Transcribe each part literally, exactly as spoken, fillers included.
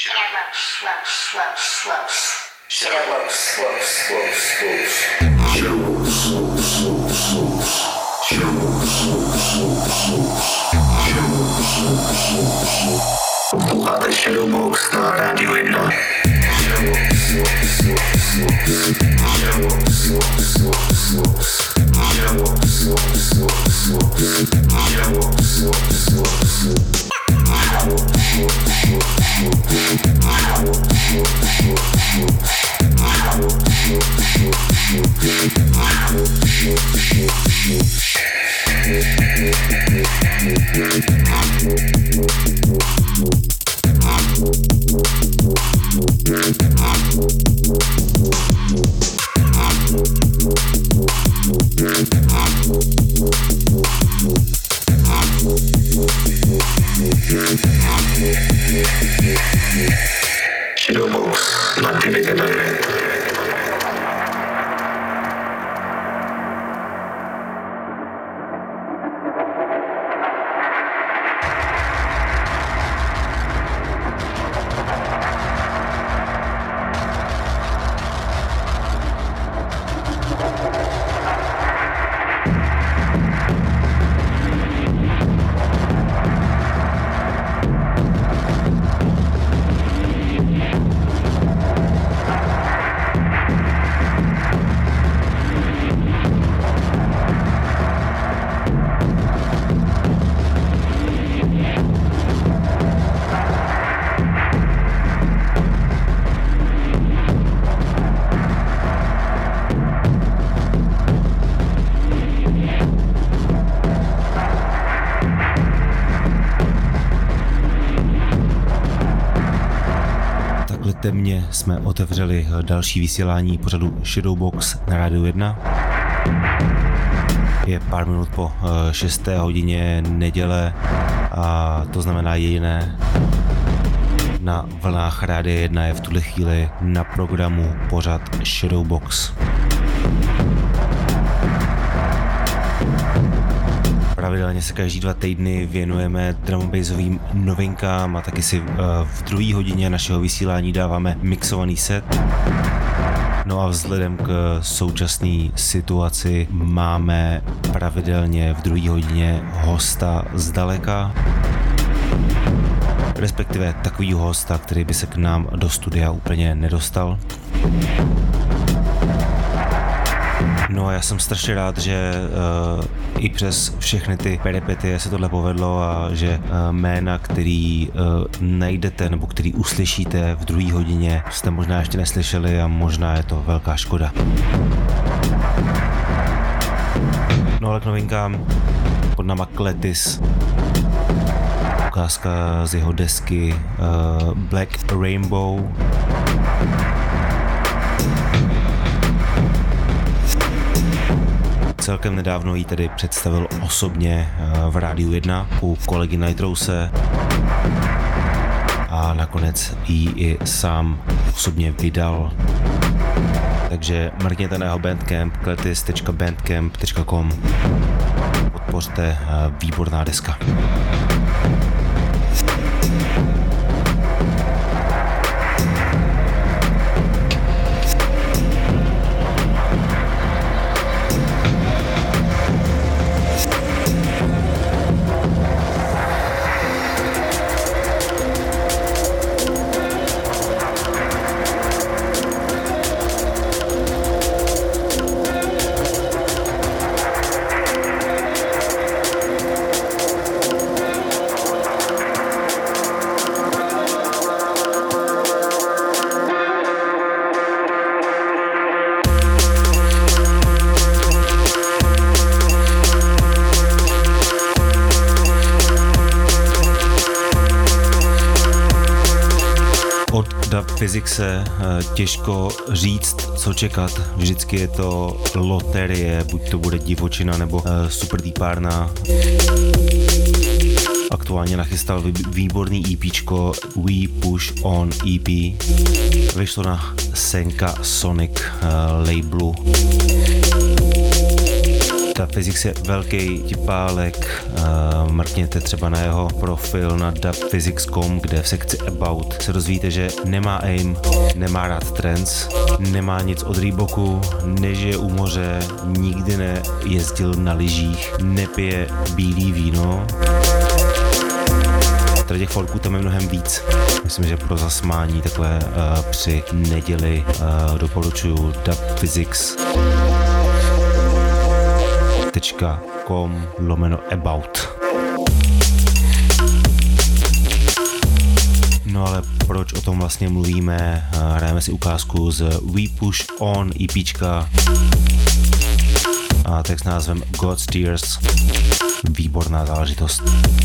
Posloucháte Shadowbox na rádiu jedna. Shadowbox na T V Direct. Temně jsme otevřeli další vysílání pořadu Shadowbox na rádiu jedna. Je pár minut po šesté hodině neděle a to znamená jediné. Na vlnách rádia jedna je v tuhle chvíli na programu pořad Shadowbox. Pravidelně se každý dva týdny věnujeme drum'n'bassovým novinkám a taky si v druhé hodině našeho vysílání dáváme mixovaný set. No a vzhledem k současné situaci máme pravidelně v druhé hodině hosta zdaleka, respektive takovýho hosta, který by se k nám do studia úplně nedostal. No a já jsem strašně rád, že uh, i přes všechny ty peripetie se tohle povedlo a že uh, jména, který uh, najdete nebo který uslyšíte v druhé hodině, jste možná ještě neslyšeli a možná je to velká škoda. No ale k novinkám pod náma Kletis. Ukázka z jeho desky uh, Black Rainbow. Celkem nedávno ji tedy představil osobně v rádiu jedna u kolegy Nitrose a nakonec ji i sám osobně vydal. Takže mrkněte na jeho bandcamp kletis tečka bandcamp tečka com. Podpořte, výborná deska. Fyzikse těžko říct, co čekat. Vždycky je to loterie, buď to bude divočina nebo super deepárna. Aktuálně nachystal výborný EPčko We Push On E P. Vyšlo na Senka Sonic labelu. Dub Physics je velký tipálek, uh, mrkněte třeba na jeho profil na dub physics tečka com, kde v sekci About se dozvíte, že nemá aim, nemá rád trance, nemá nic od Reeboku, nežije u moře, nikdy nejezdil na lyžích, nepije bílý víno. Tady těch folků tam je mnohem víc. Myslím, že pro zasmání takové uh, při neděli uh, doporučuju dub physics tečka com lomeno About. No ale proč o tom vlastně mluvíme? Hrajeme si ukázku z We Push On EPčka a text s názvem God's Tears. Výborná záležitost.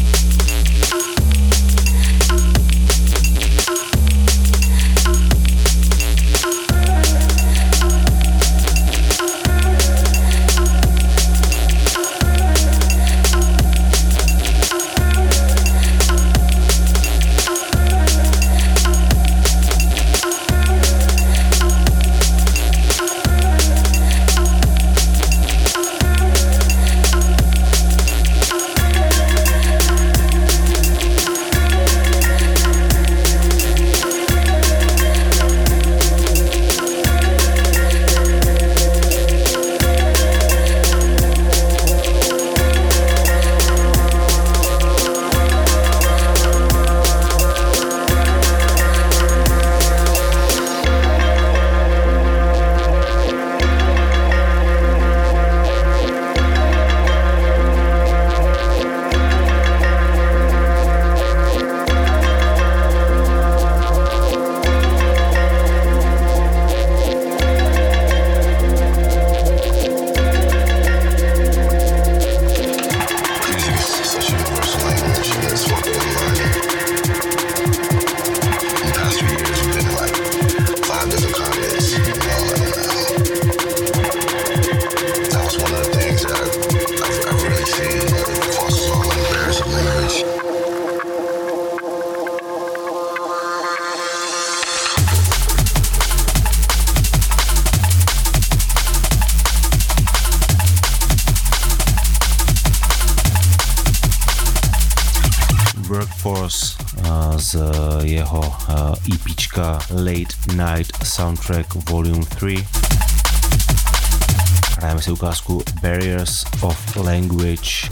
Workforce z jeho EPčka Late Night Soundtrack Volume tři. Hrajeme si ukázku Barriers of Language.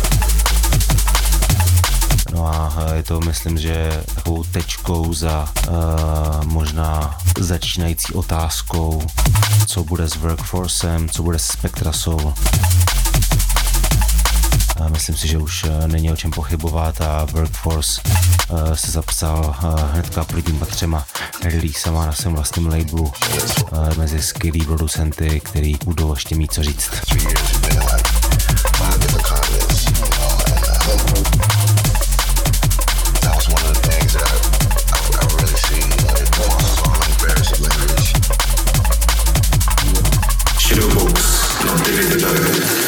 No a je to, myslím, že takovou tečkou za uh, možná začínající otázkou, co bude s Workforcem, co bude s Spectra Soul. A myslím si, že už není o čem pochybovat a Workforce uh, se zapsal uh, hnedka prvníma třema releasama na svém vlastním labelu uh, mezi skvělý producenty, který budou ještě mít co říct. Shadowbox, not deleted direct.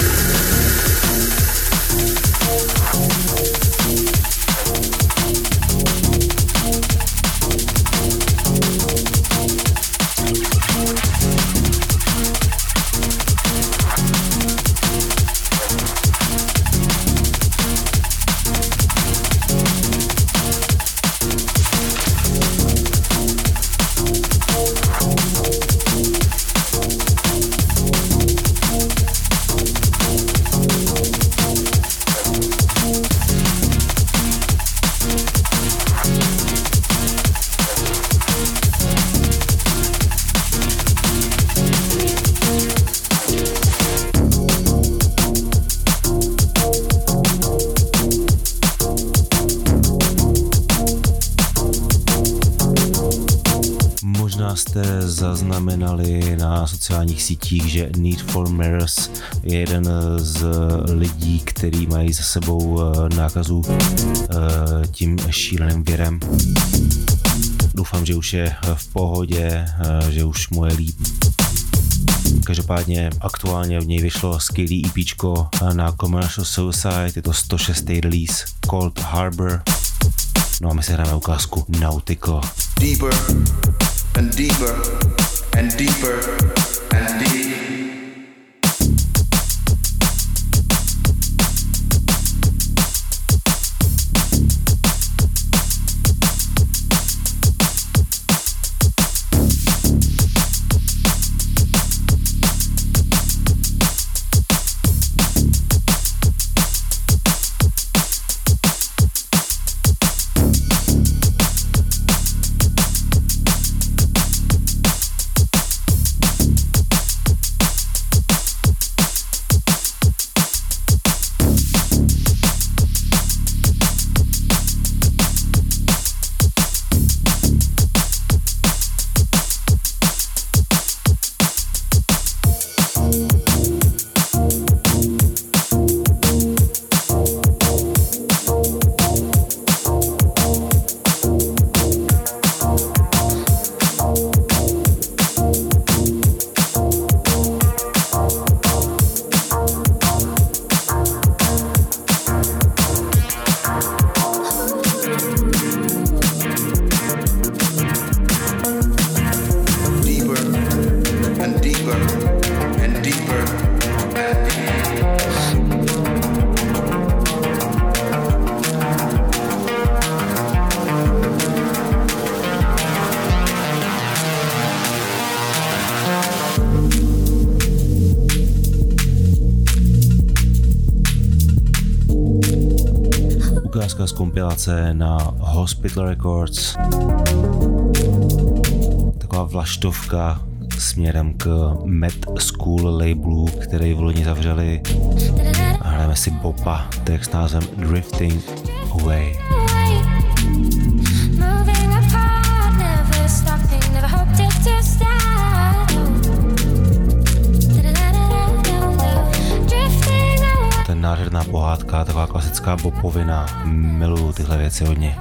Jste zaznamenali na sociálních sítích, že Need for Mirrors je jeden z lidí, který mají za sebou nákazu tím šíleným virem. Doufám, že už je v pohodě, že už mu je líp. Každopádně aktuálně v něj vyšlo skvělý EPčko na Commercial Suicide, je to sto šestý release Cold Harbor. No a my se hráme ukázku Nautical. Deeper and deeper and deeper and deep. ukázka z kompilace na Hospital Records. Taková vlaštovka směrem k Mad School labelu, který v loni zavřeli. A hrajeme si Bopa, track s názvem Drifting Away. Ten nádherná pohádka, taková klasická bopovina. Miluju tyhle věci hodně.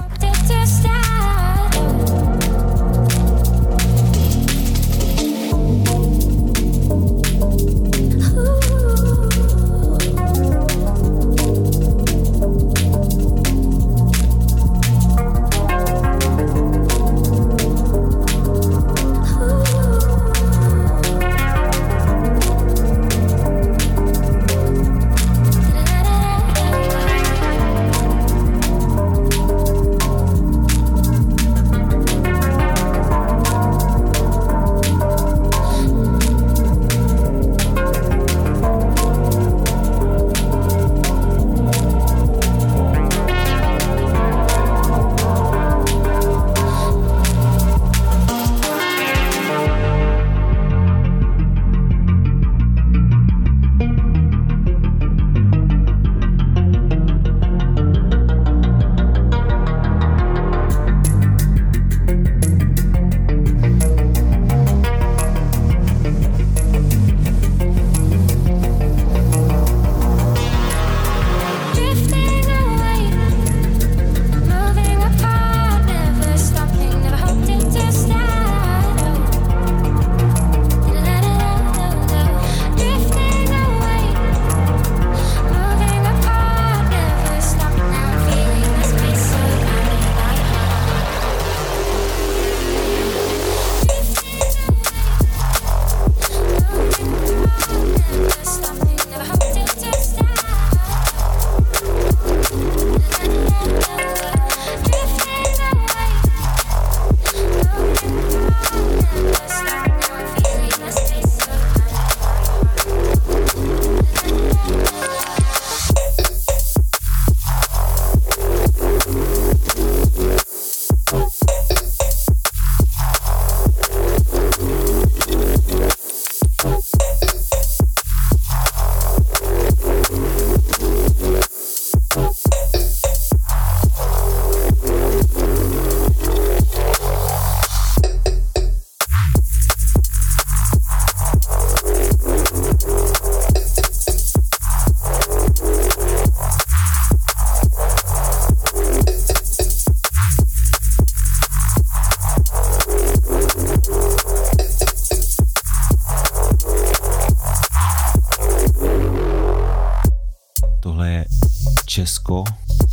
Česko,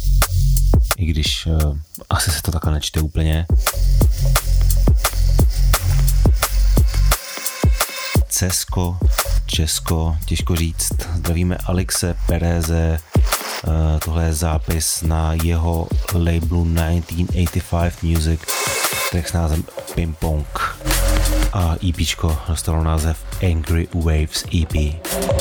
i když uh, asi se to takhle nečte úplně. Cesko, Česko, těžko říct. Zdravíme Alexe Pereze, uh, tohle je zápis na jeho labelu devatenáct osmdesát pět Music, track s názvem Ping Pong. A EPčko dostalo název Angry Waves E P.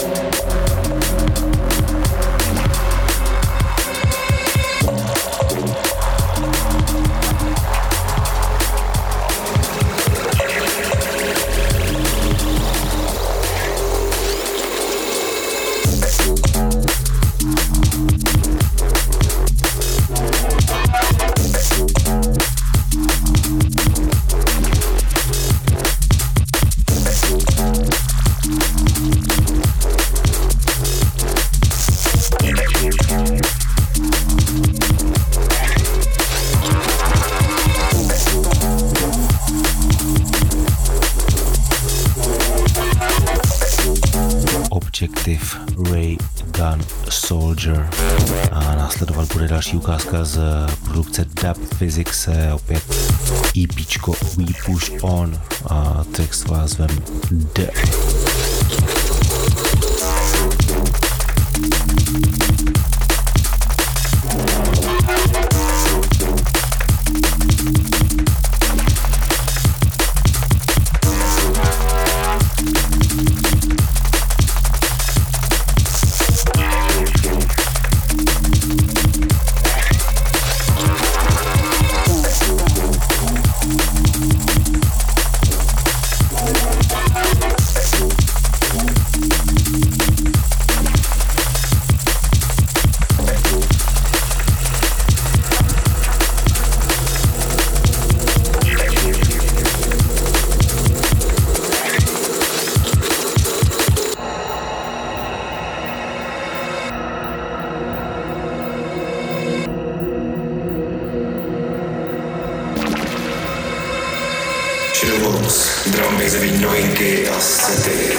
Ray Gun Soldier. A následovat bude další ukázka z produkce Dub Physics, opět EPčko We Push On a track s názvem D. Moves, drum bassový novinky a sety.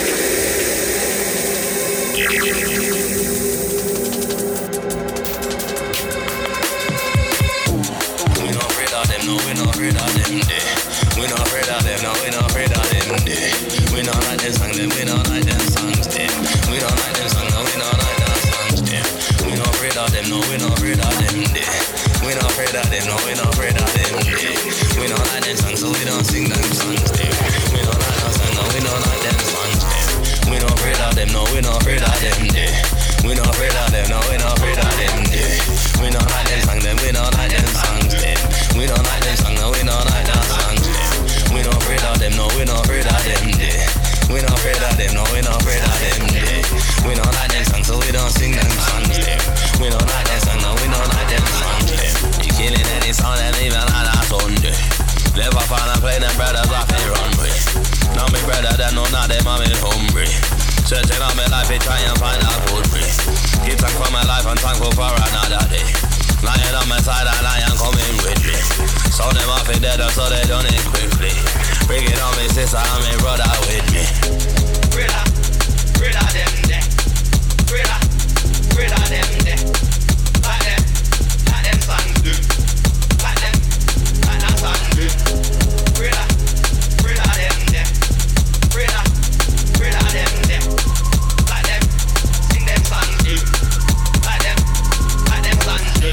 No, we not afraid of them, day. We not afraid of them, no, we not afraid of them, day. We not like them songs, them, we not like them songs, them. We not like them songs, no, we not like them songs, them. We not afraid of them, no, we not afraid of them, day. We not afraid of them, no, we not afraid of them, day. We not like them songs, so we don't sing them songs, them. We not like them songs, no, we not like them songs, them. We not afraid of them, no, we not afraid of them, day. We not afraid of them, no, we not afraid of them, day. We not like them songs, them, we not like them songs, them. We don't like them songs, no, we don't like them songs, yeah. We not afraid of them, no, we not afraid of them, yeah. We not afraid of them, no, we not afraid of them, yeah. We don't like them songs, so we don't sing them songs, yeah. We don't like them songs, no, we don't like them songs, yeah. You killing any song that even like that Sunday. Live off and play them brothers off and run with. Now me brother, that know not them, I'm in hungry. Searching on my life, try and find out food free. Keep thank for my life and thankful for another day. Lying on my side and I am coming with me. So them off it dead so they done it quickly. Bring it on me sister and me brother with me. Brother, brother them there. Brother, brother them there. Like them, like them songs do. Like them, like that songs do. Brother, brother them there. Brother, brother them there. Like them, sing them songs do. Like them, like them songs do.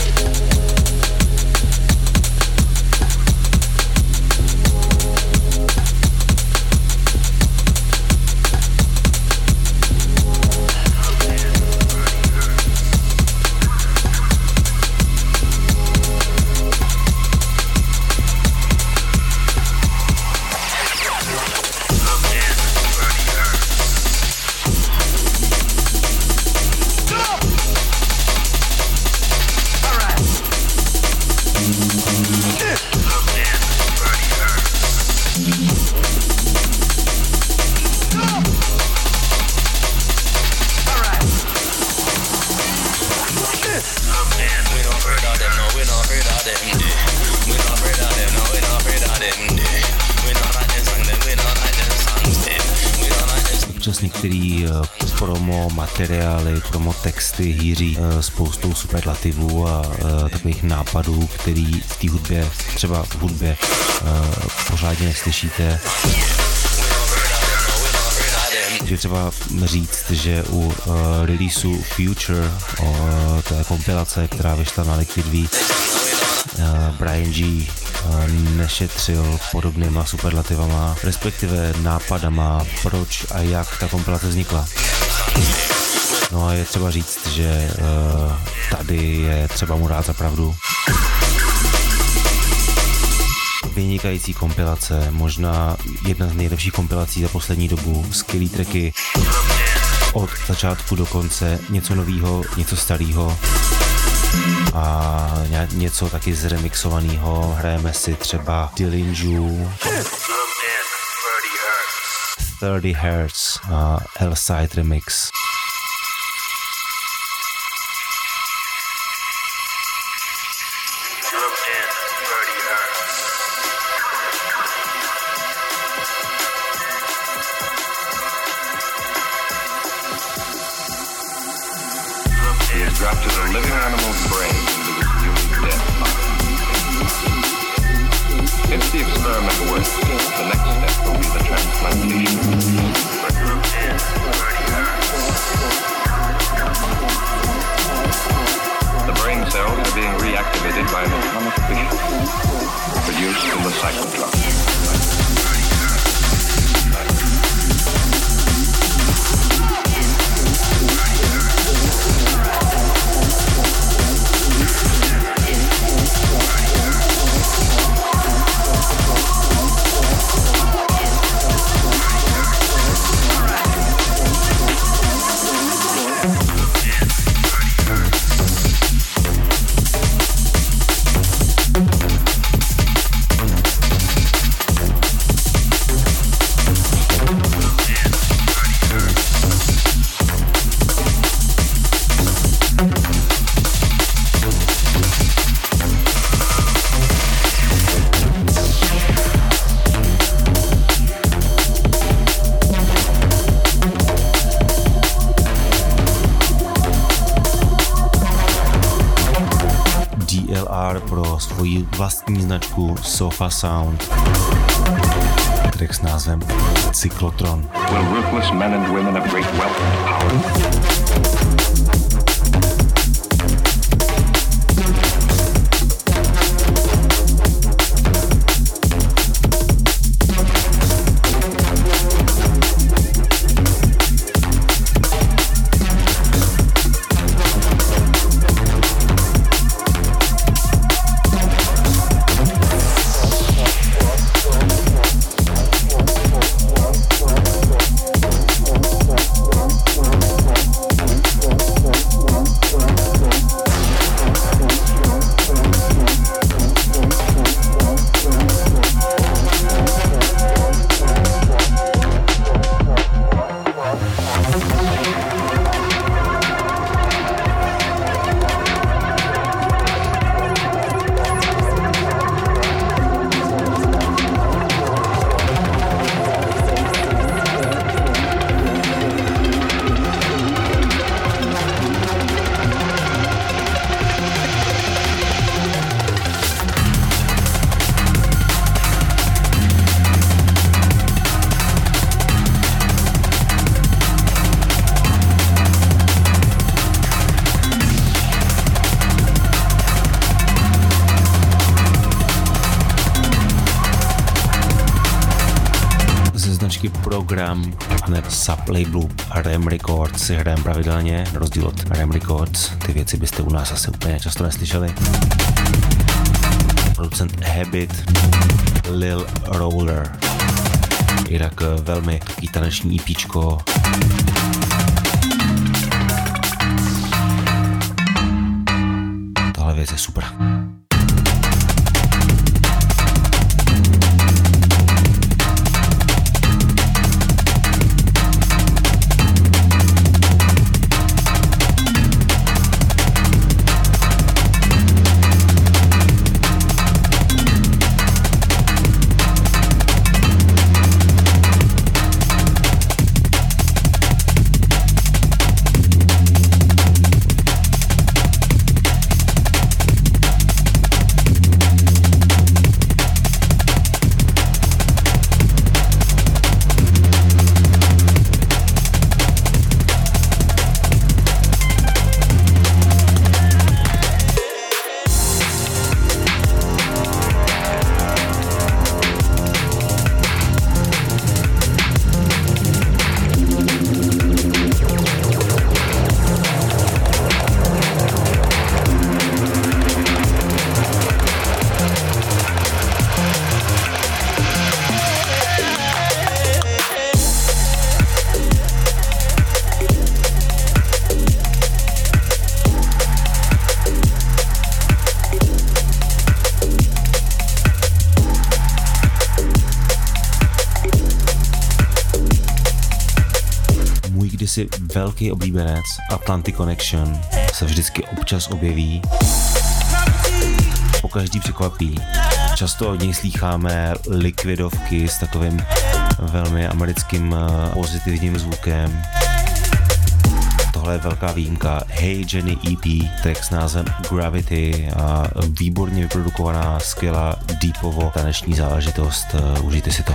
Některý promo materiály, promo texty hýří spoustou superlativů a takových nápadů, který v té hudbě, třeba v hudbě, pořádně neslyšíte. Je třeba říct, že u uh, releaseu Future, uh, to je kompilace, která vyšla na Liquid V, uh, Brian G. Uh, nešetřil podobnýma superlativama, respektive nápadama, proč a jak ta kompilace vznikla. No a je třeba říct, že uh, tady je třeba mu dát za pravdu. Vynikající kompilace, možná jedna z nejlepších kompilací za poslední dobu, skvělý tracky od začátku do konce, něco novýho, něco starého a něco taky zremixovaného. Hrajeme si třeba Dillinju, thirty hertz a L-Side remix. Grafted a living animal's brain into this human death. If the experiment works, the next step will be the transplantation. The brain cells are being reactivated by an atomic fission produced in the cyclotron. D L R pro svoji vlastní značku Sofa Sound. Track s názvem Cyclotron. Will ruthless men and women of great wealth and power Program a ne sublabelu Ram Records si hrajeme pravidelně, na rozdíl od Ram Records. Ty věci byste u nás asi úplně často neslyšeli. Producent Habit, Lil Roller. Jinak velmi taký taneční EPčko. Tohle věc je super. Kdysi velký oblíbenec Atlantic Connection se vždycky občas objeví, pokaždý překvapí. Často od něj slýcháme likvidovky s takovým velmi americkým pozitivním zvukem. Tohle je velká výjimka. Hey Jenny E P, track s názvem Gravity a výborně vyprodukovaná, skvělá deepovo taneční záležitost. Užijte si to.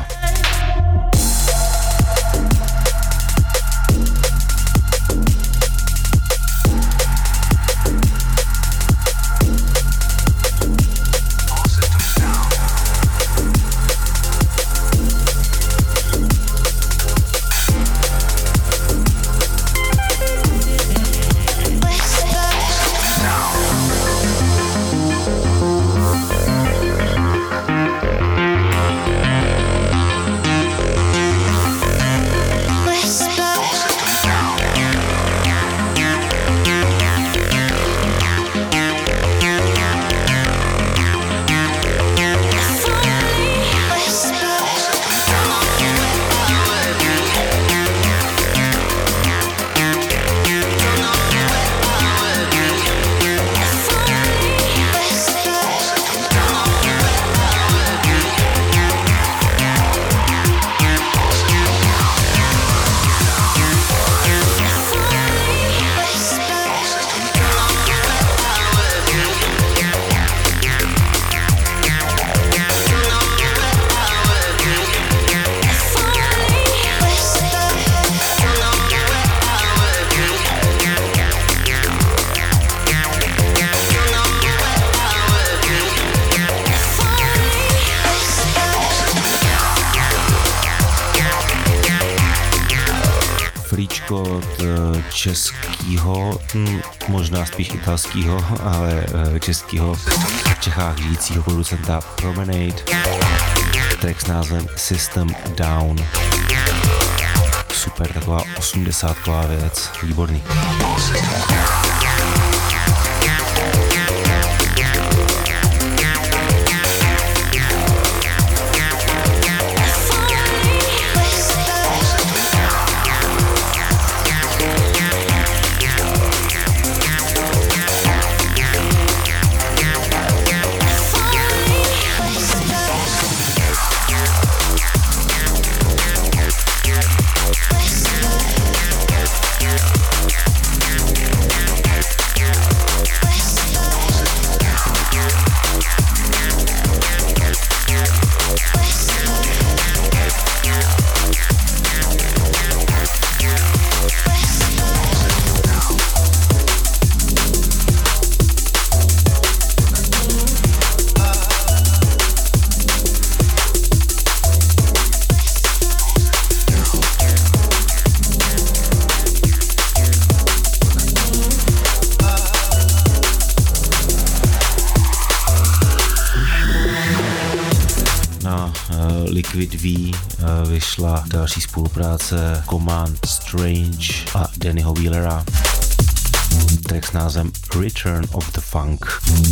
Cčko od českýho, hm, možná spíš italskýho, ale českýho, v Čechách žijícího producenta Promenade. Track s názvem System Down. Super, taková osmdesátková věc, výborný. Liquid V vyšla další spolupráce Command Strange a Dannyho Wheelera. Track s názvem Return of the Funk.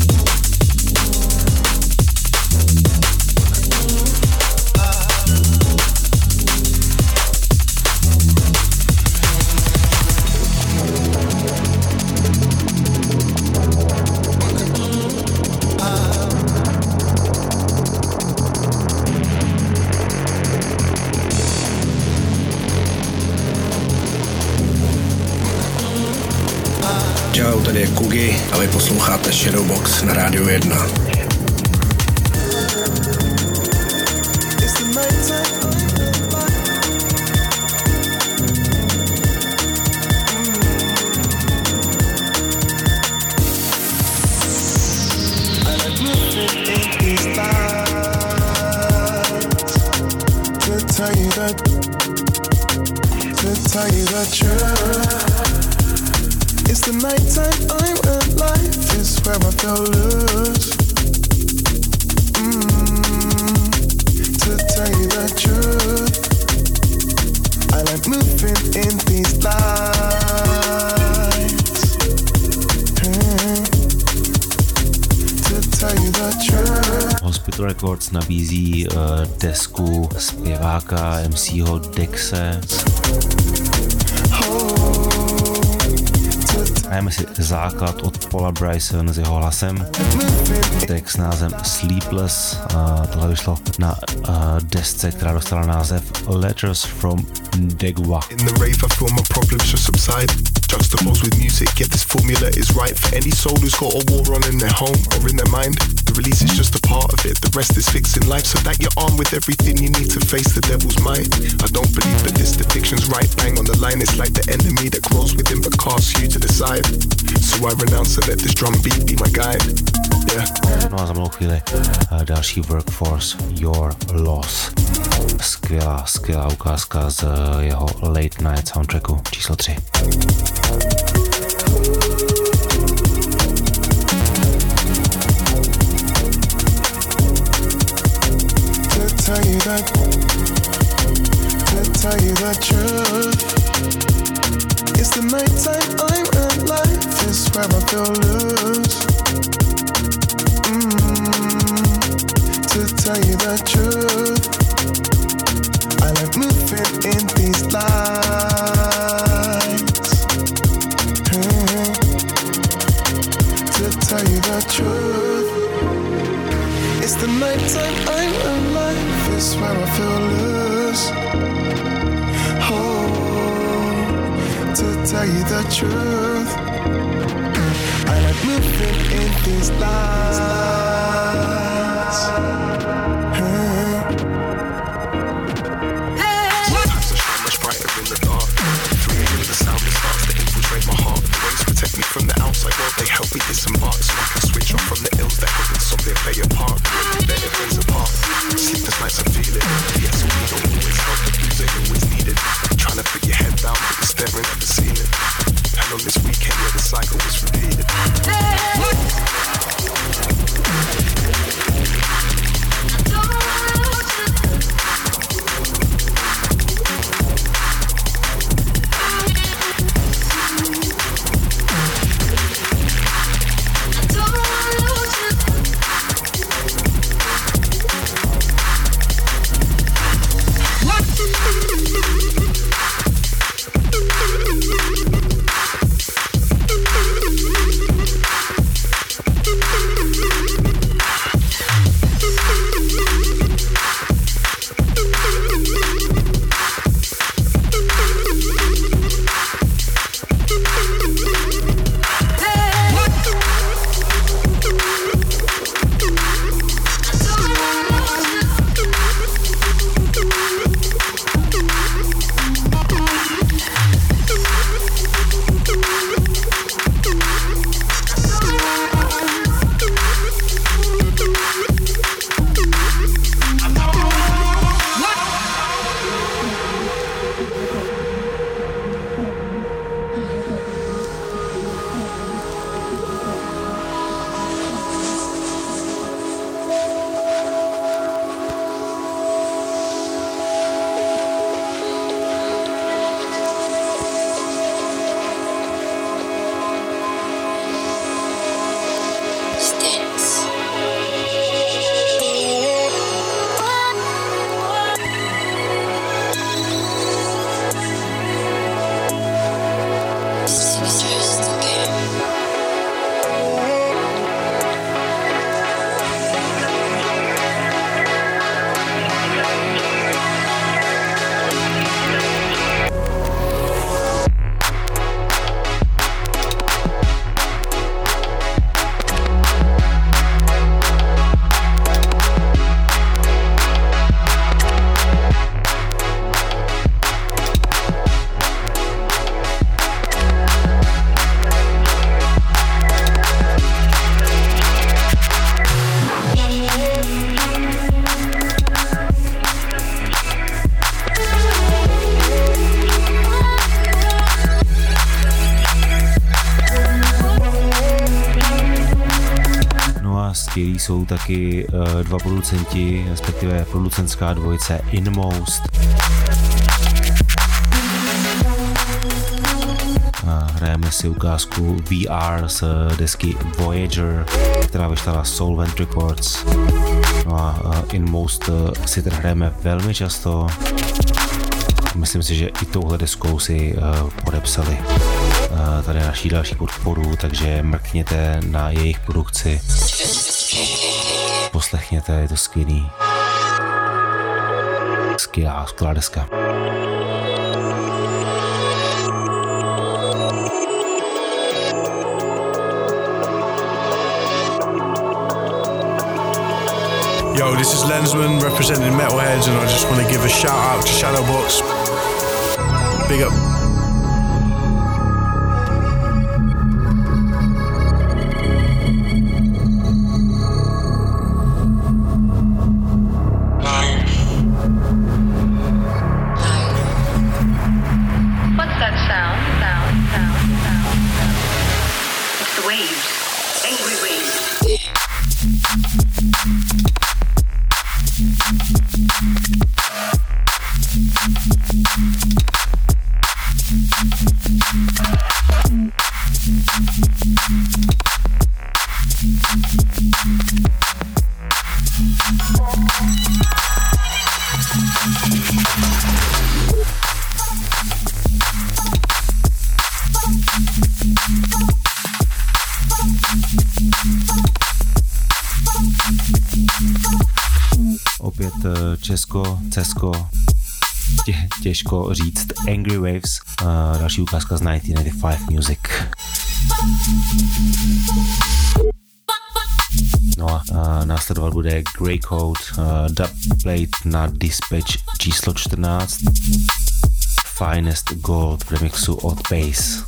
Čau, tady je Kugi a vy posloucháte Shadowbox na Rádiu jedna. It's the night time, I'm alive, is where I feel loose. Mm, to tell you the truth, I like moving in these lights. Mm, to tell you the truth. Hospital Records nabízí uh, desku zpěváka em cého Dexe. Hrajeme si základ od Paula Bryson s jeho hlasem. Track s názvem Sleepless. Uh, tohle vyšlo na uh, desce, která dostala název Letters from Degwa. In the rave I feel my problems just subside. Juxtaposed with music, yet this formula is right for any soul who's got a war on in their home or in their mind. The release is just a part of it, the rest is fixing life so that you're armed with everything you need to face the devil's mind. I don't believe that this depiction's right, bang on the line, it's like the enemy that grows within but casts you to the side. So I renounce and let this drum beat be my guide. Yeah. No a za malou chvíli uh, další Workforce Your Loss. Skvělá, skvělá ukázka z uh, jeho Late Night soundtracku číslo tři. Tell you that, to tell you the truth, it's the night time, I'm alive, is where I feel loose. Mm, to tell you the truth, I like moving in these lights. Mm, to tell you the truth, it's the night time, I'm alive, is where I feel loose. Oh, to tell you the truth, I like moving in these lights. Huh. Sometimes I shine much brighter in the dark. Through me the sound that starts to infiltrate my heart. The waves protect me from the outside world, they help me disembark so I can switch off from the ills that could insomnia play a part. Better things apart. Sleepless nights I feel it. Yes, we don't always help, but you they always need it. Trying to put your head down, but you're staring skvělí jsou taky uh, dva producenti, respektive producentská dvojice Inmost. A hrajeme si ukázku V R z desky Voyager, která vyšla na Solvent Records. No a uh, Inmost uh, si tady hrajeme velmi často. Myslím si, že i touhle deskou si uh, podepsali uh, tady naší další podporu, takže mrkněte na jejich produkci. Poslechněte, je to skvělý. Skvělá, skvělá deska. Yo, this is Lensman representing Metalheads, and I just want to give a shout out to Shadowbox. Big up. What's that sound? Sound, sound, sound, sound. It's the waves. Angry waves. Opět Česko, Cesko, tě, těžko říct. Angry Waves, uh, další ukázka z devatenáct devadesát pět Music. No a uh, následovat bude Grey Code, uh, dubplate na Dispatch číslo čtrnáct, Finest Gold v remixu od Bass.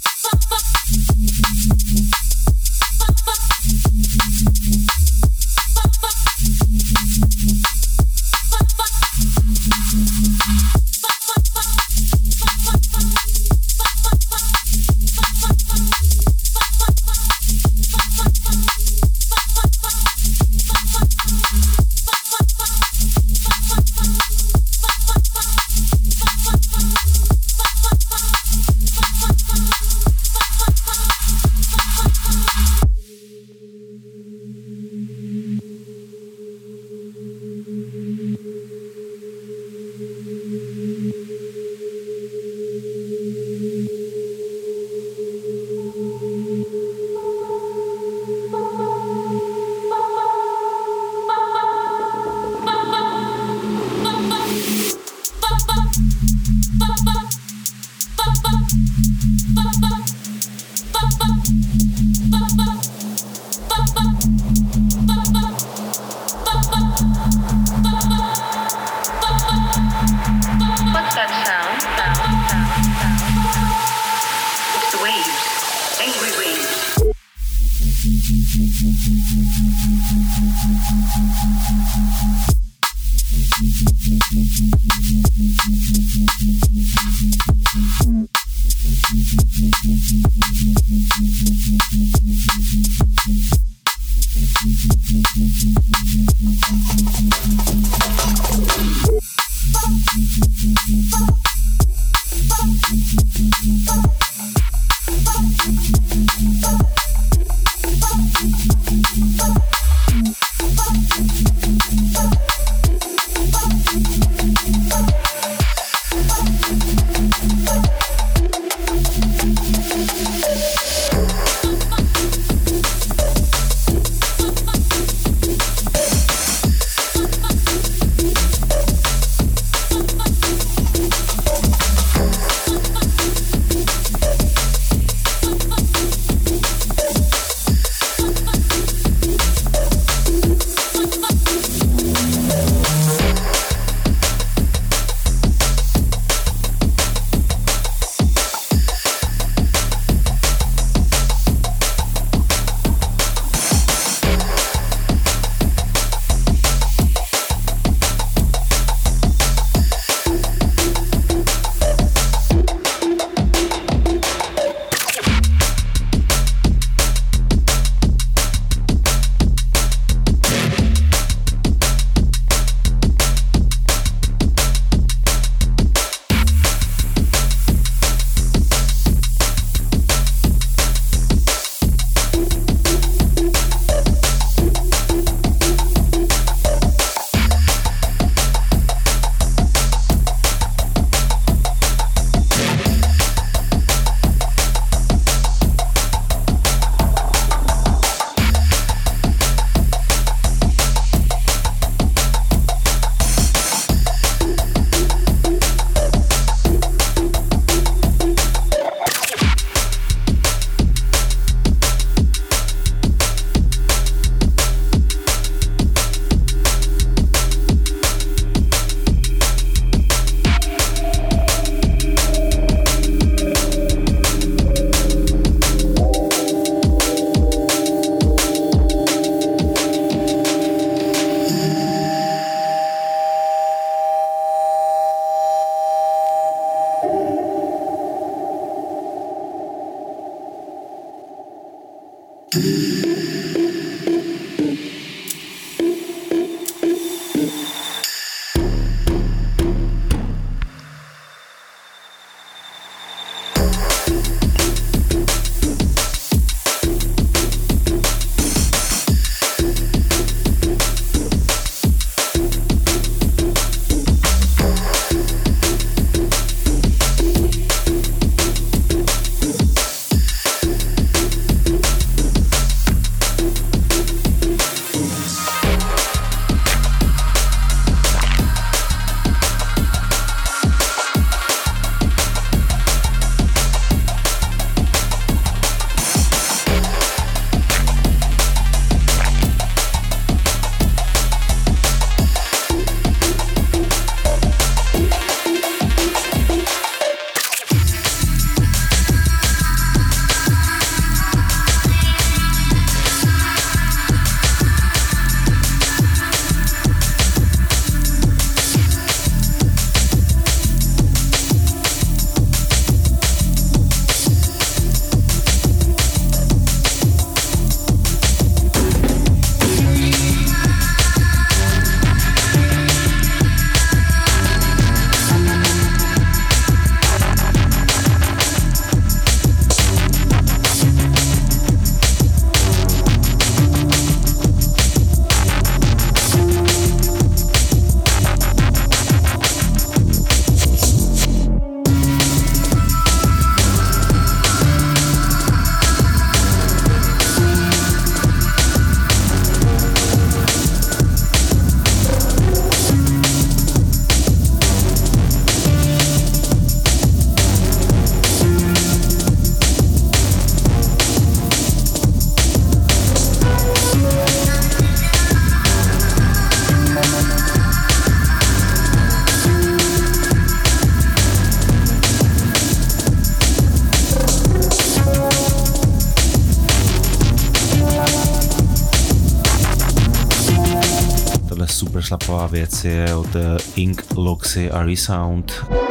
tahle super šlapavá věc je od Ink, Loxy a Resound.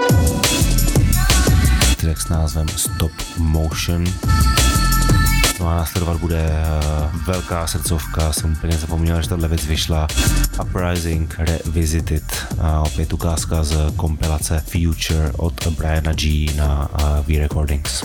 Track s názvem Stop Motion. No a následovat bude velká srdcovka, jsem úplně zapomněl, že tahle věc vyšla. Uprising Revisited, a opět ukázka z kompilace Future od Briana G na V Recordings.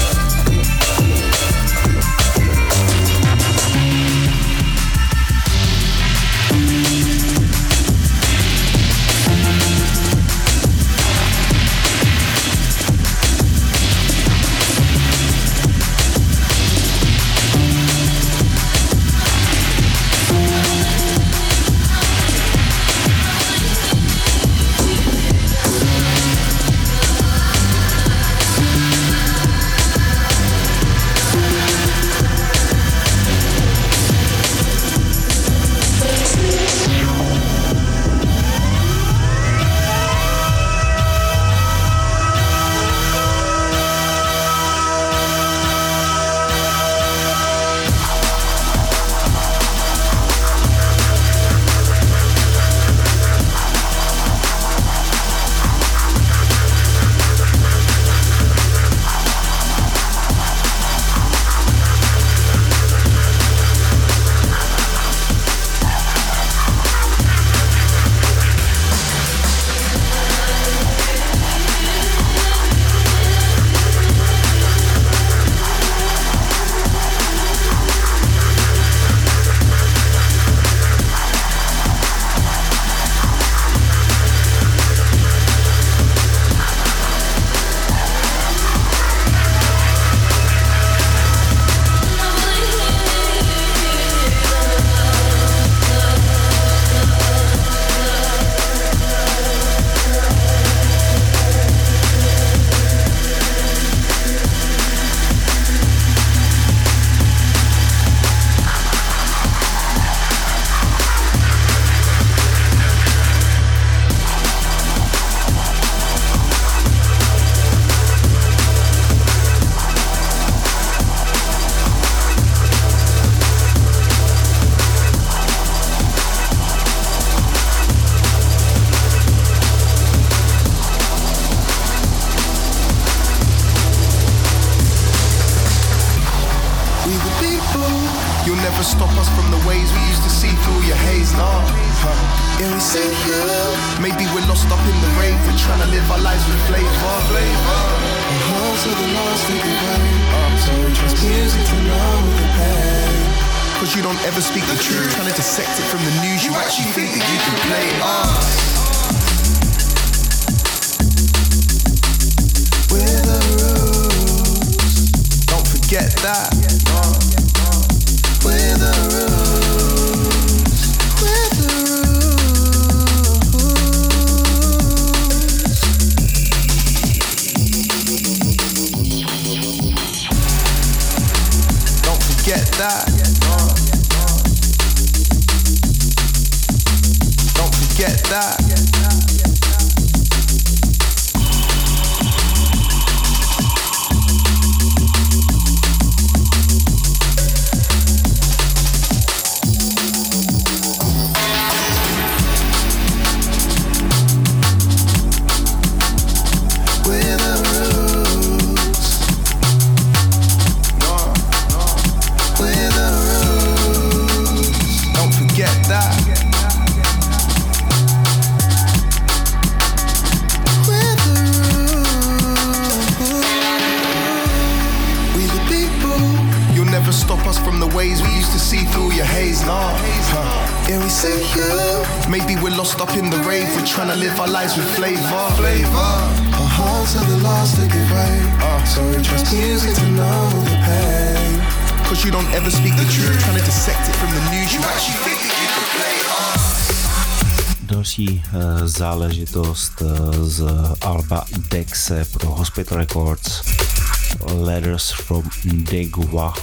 Další záležitost z alba Dexe pro Hospital Records, Letters from Degua,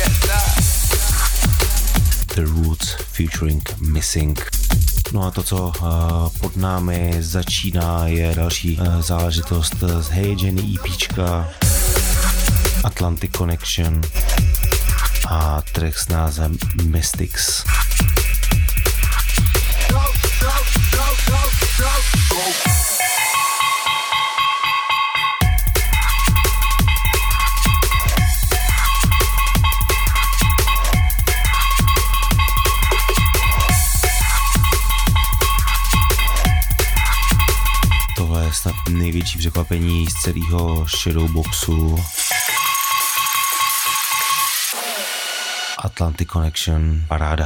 The Roots featuring Missing. No a to, co uh, pod námi začíná, je další uh, záležitost z Hey Jenny EPčka Atlantic Connection a track s názvem Mystics. největší překvapení z celého Shadowboxu. Atlantic Connection, paráda.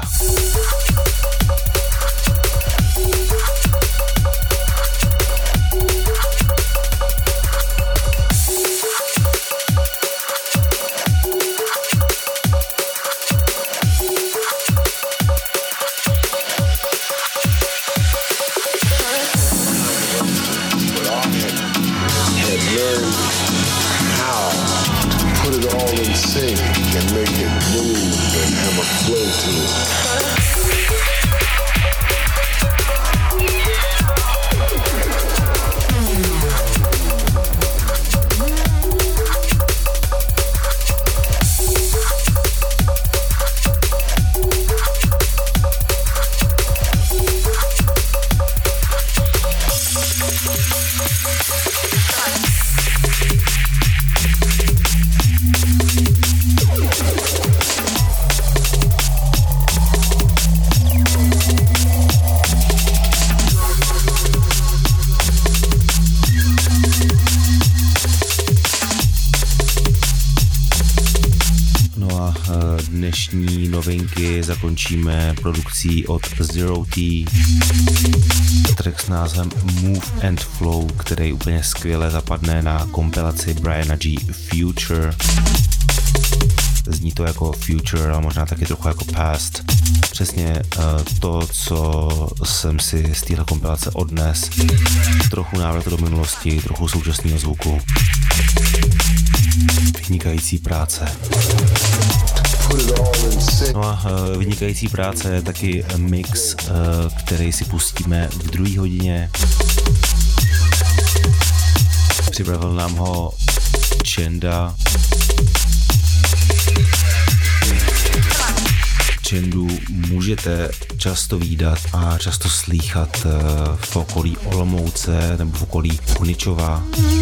Dnešní novinky zakončíme produkcí od Zero T, track s názvem Move and Flow, který úplně skvěle zapadne na kompilaci Briana G. Future. Zní to jako Future, ale možná taky trochu jako Past. Přesně uh, to, co jsem si z téhle kompilace odnes. Trochu návratu do minulosti, trochu současného zvuku. Vynikající práce. No a uh, vynikající práce je taky mix, uh, který si pustíme v druhé hodině. Připravil nám ho Chenda. Chandu můžete často vídat a často slýchat uh, v okolí Olomouce nebo v okolí Kuničova.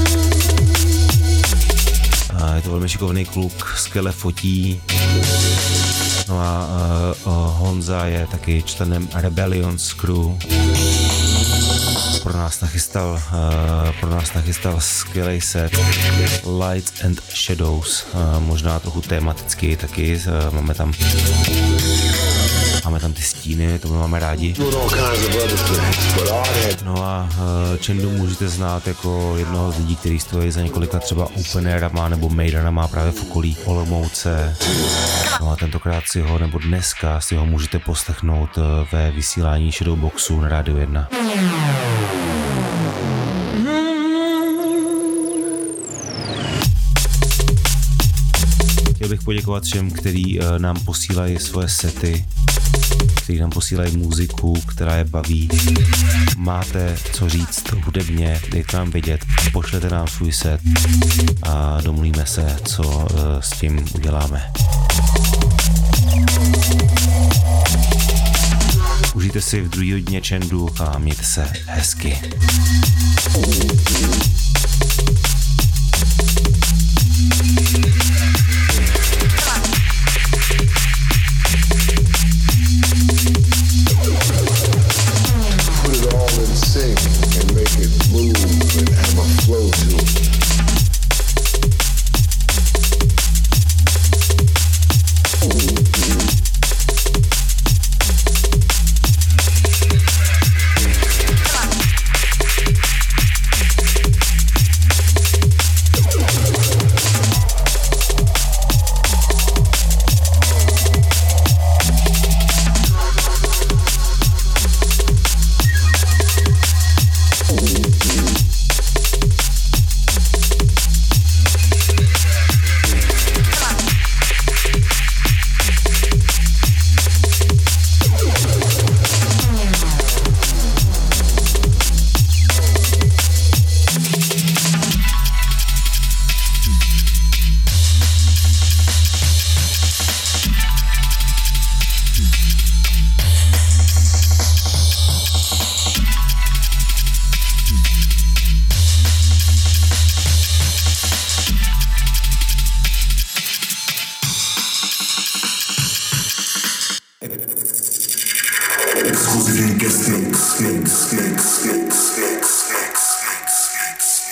Uh, je to velmi šikovný kluk, skvěle fotí. No a uh, uh, Honza je taky členem Rebellions Crew. Pro nás nachystal, uh, pro nás nachystal skvělý set Lights and Shadows, uh, možná trochu tematický taky, uh, máme tam máme tam ty stíny, to my máme rádi. No a uh, Chandu můžete znát jako jednoho z lidí, který stojí za několika třeba openerama nebo maidanama právě v okolí Olomouce. No a tentokrát si ho, nebo dneska si ho můžete poslechnout uh, ve vysílání Shadowboxu na Rádiu jedna. Chtěl bych poděkovat všem, kteří uh, nám posílají svoje sety, kteří nám posílají muziku, která je baví. Máte co říct hudebně, dejte nám vědět, pošlete nám svůj set a domluvíme se, co uh, s tím uděláme. Užijte si v druhý hodině Chandu a mějte se hezky. Exclusive guest mix, mix, mix, mix, mix, mix, mix, mix, mix.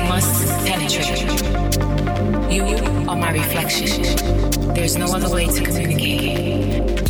must penetrate. You are my reflection. There's no other way to communicate.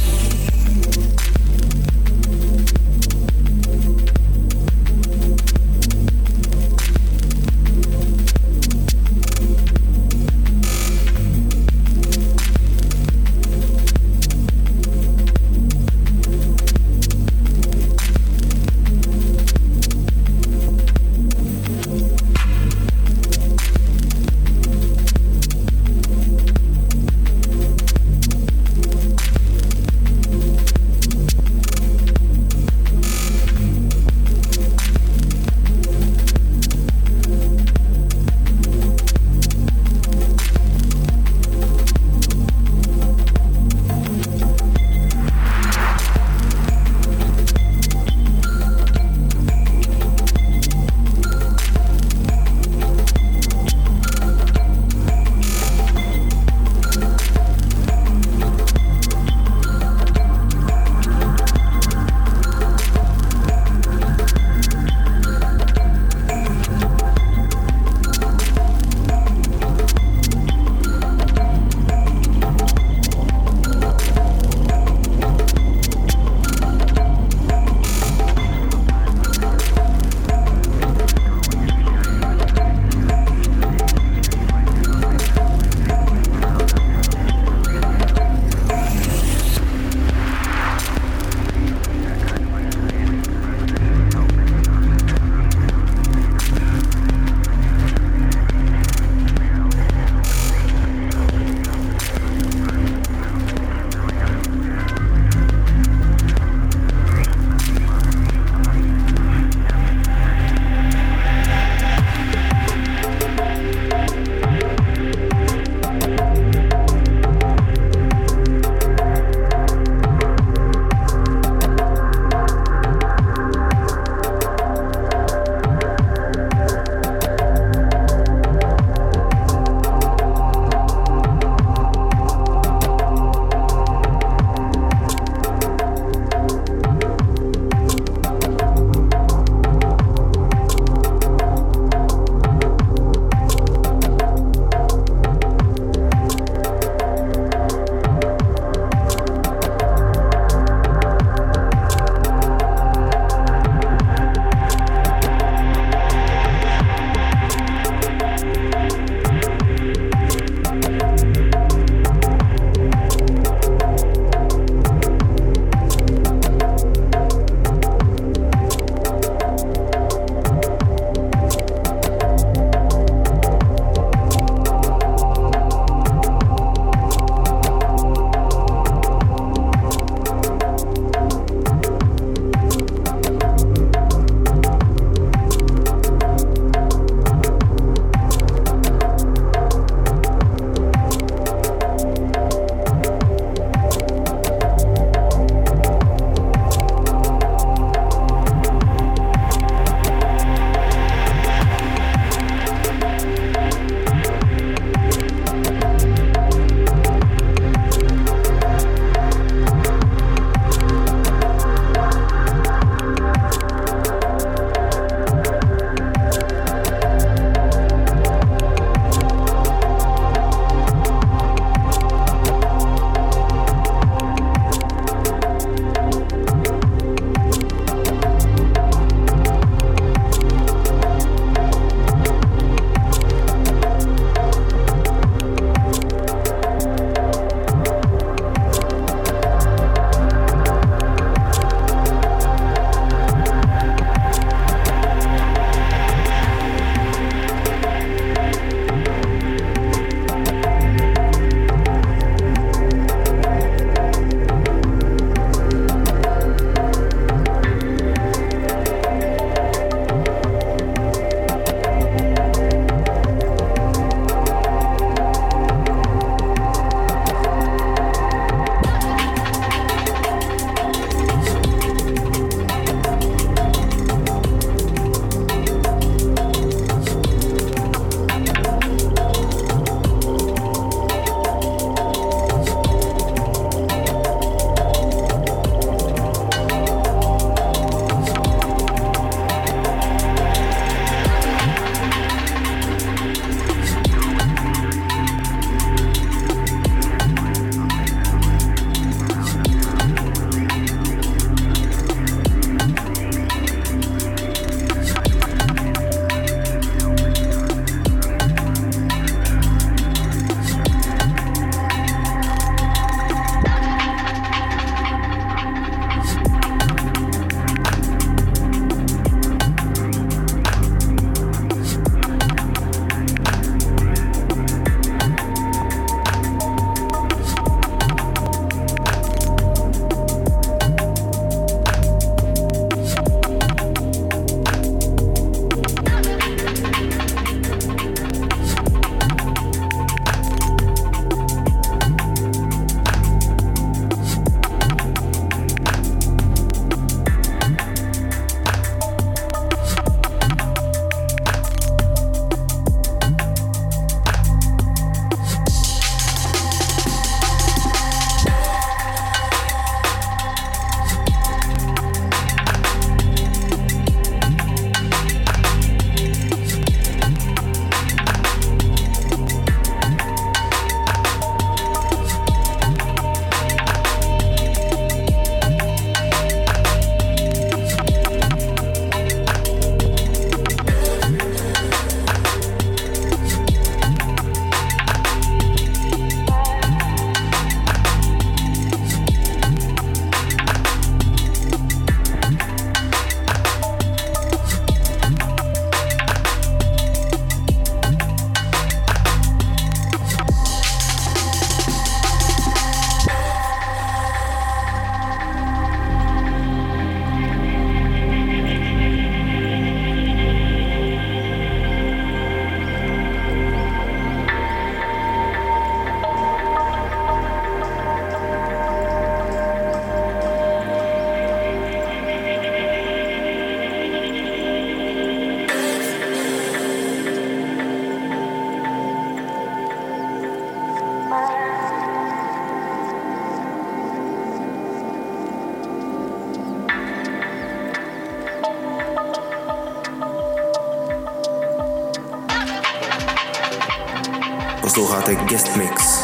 Posloucháte Guest Mix.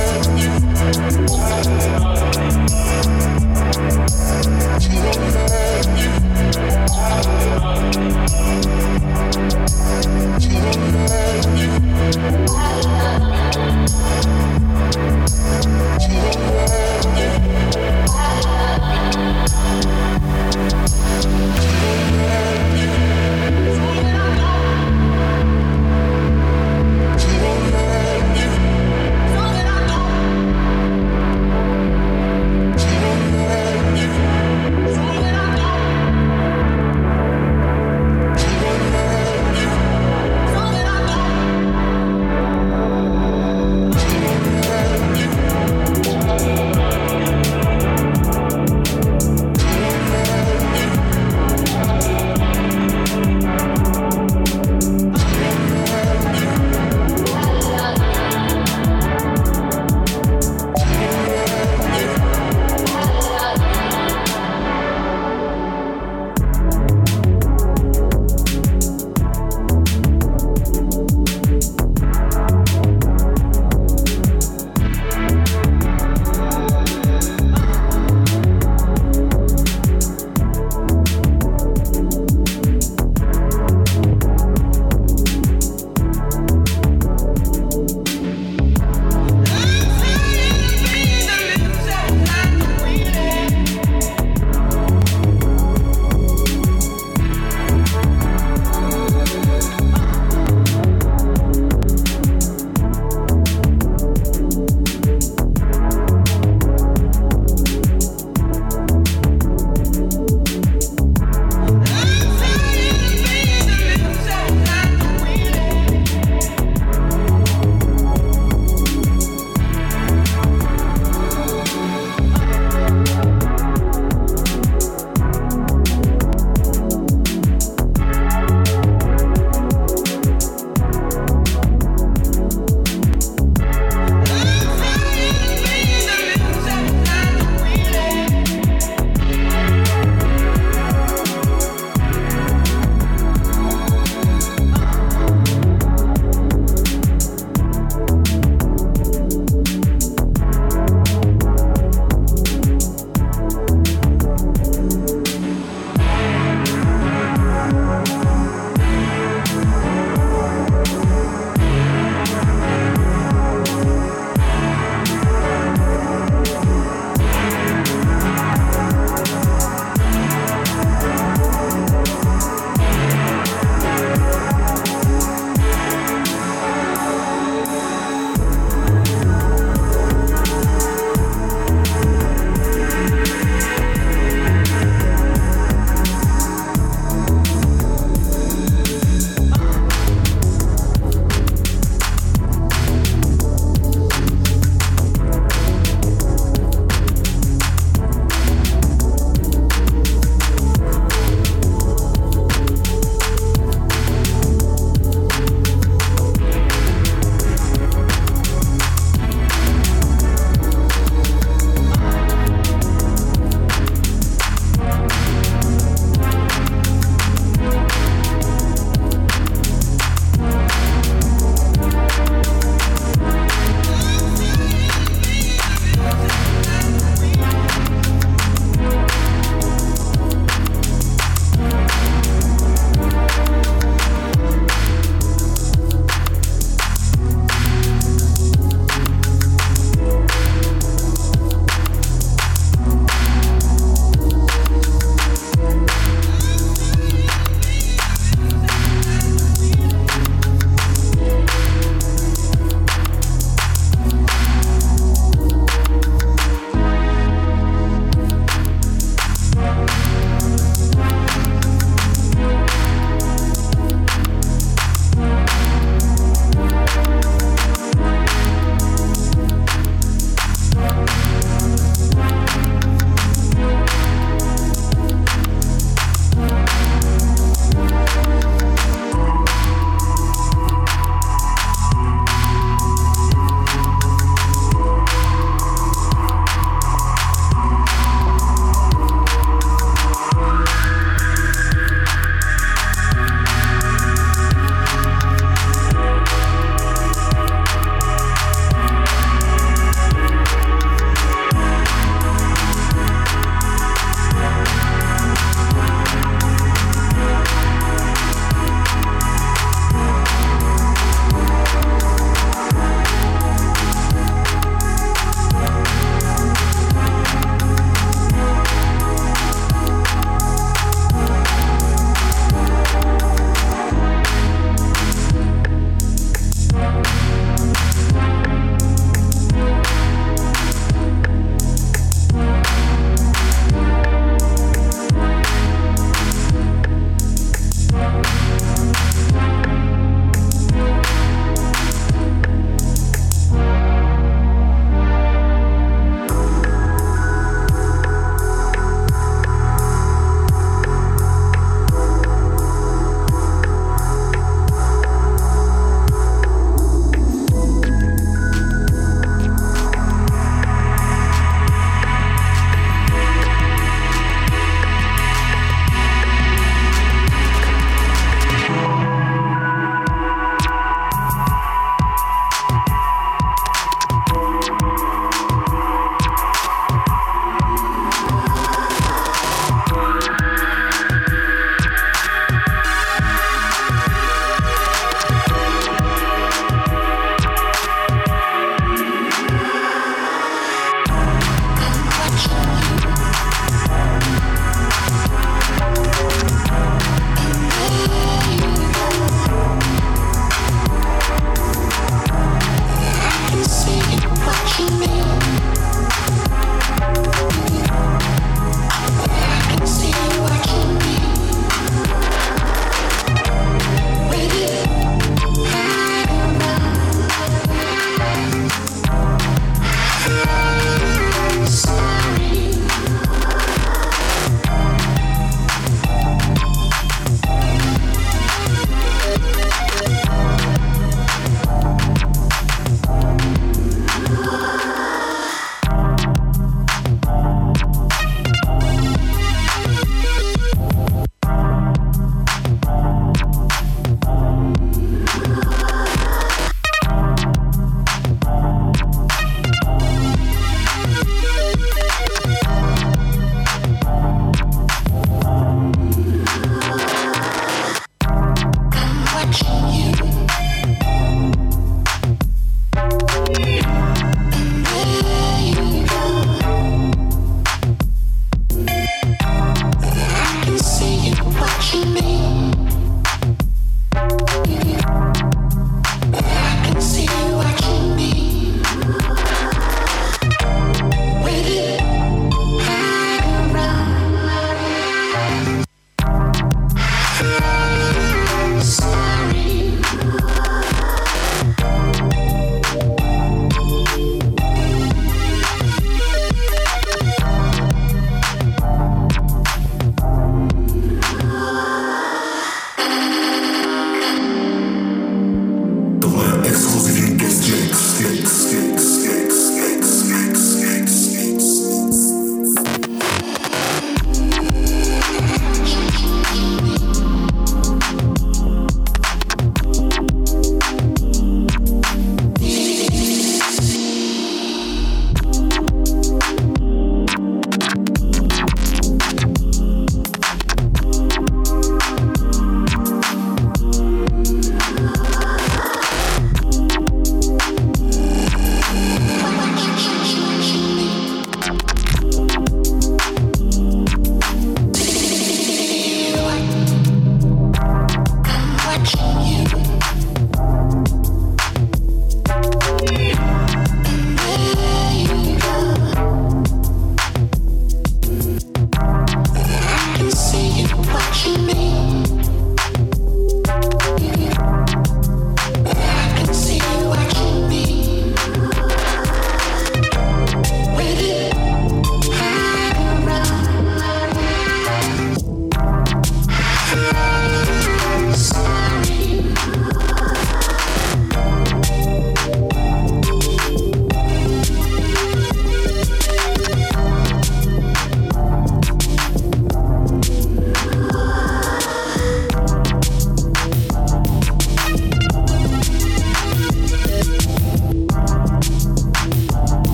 Thank you.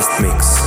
Guest Mix.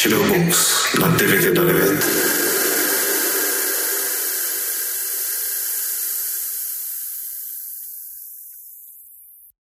Shadowbox na devět